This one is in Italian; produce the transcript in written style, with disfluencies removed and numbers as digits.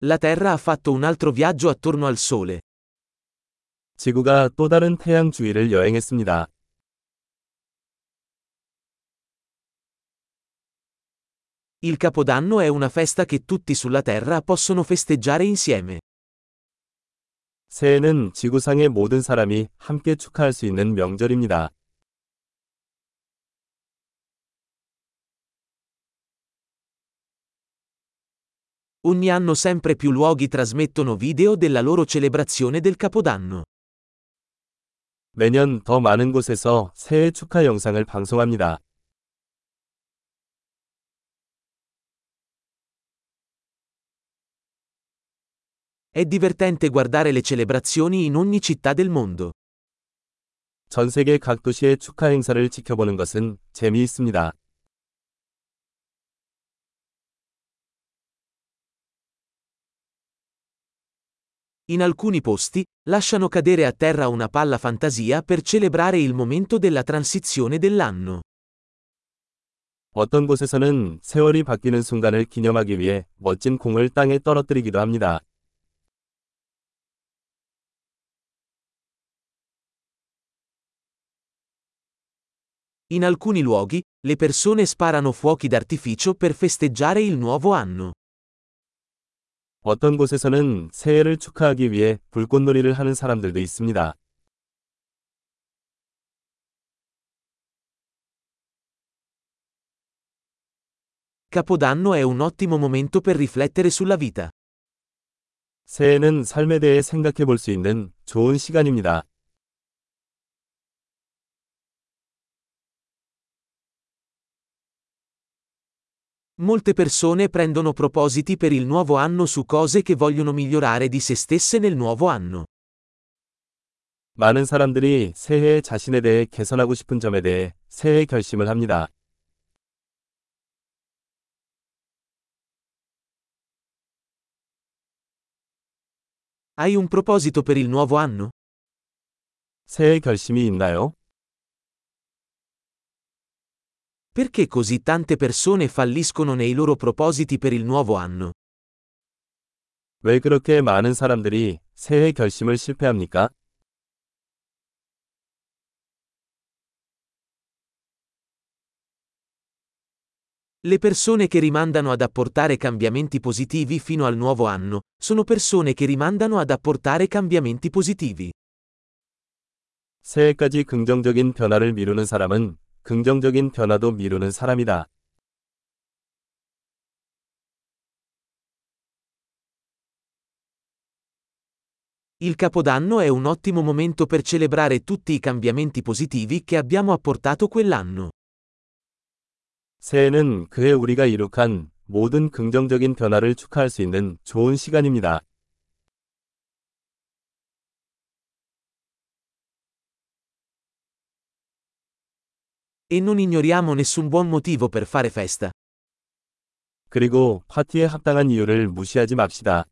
La Terra ha fatto un altro viaggio attorno al Sole. 지구가 또 다른 태양 주위를 여행했습니다. Il Capodanno è una festa che tutti sulla Terra possono festeggiare insieme. 새해는 지구상의 모든 사람이 함께 축하할 수 있는 명절입니다. Ogni anno sempre più luoghi trasmettono video della loro celebrazione del Capodanno. 매년 더 많은 곳에서 새해 축하 영상을 방송합니다. È divertente guardare le celebrazioni in ogni città del mondo. 전 세계 각 도시의 축하 행사를 지켜보는 것은 재미있습니다. In alcuni posti, lasciano cadere a terra una palla fantasia per celebrare il momento della transizione dell'anno. 어떤 곳에서는 세월이 바뀌는 순간을 기념하기 위해 멋진 공을 땅에 떨어뜨리기도 합니다. In alcuni luoghi, le persone sparano fuochi d'artificio per festeggiare il nuovo anno. 어떤 곳에서는 새해를 축하하기 위해 불꽃놀이를 하는 사람들도 있습니다. Capodanno è un ottimo momento per riflettere sulla vita. 새해는 삶에 대해 생각해 볼 수 있는 좋은 시간입니다. Molte persone prendono propositi per il nuovo anno su cose che vogliono migliorare di se stesse nel nuovo anno. 많은 사람들이 새해에 자신에 대해 개선하고 싶은 점에 대해 새해 결심을 합니다. Hai un proposito per il nuovo anno? 새해 결심이 있나요? Perché così tante persone falliscono nei loro propositi per il nuovo anno? 왜 그렇게 많은 사람들이 새해 결심을 실패합니까? Le persone che rimandano ad apportare cambiamenti positivi fino al nuovo anno, sono persone che rimandano ad apportare cambiamenti positivi. 새해까지 긍정적인 변화를 미루는 사람은 긍정적인 변화도 미루는 사람이다. Il Capodanno è un ottimo momento per celebrare tutti i cambiamenti positivi che abbiamo apportato quell'anno. 새해는 그해 우리가 이룩한 모든 긍정적인 변화를 축하할 수 있는 좋은 시간입니다. E non ignoriamo nessun buon motivo per fare festa. 그리고 파티에 합당한 이유를 무시하지 맙시다.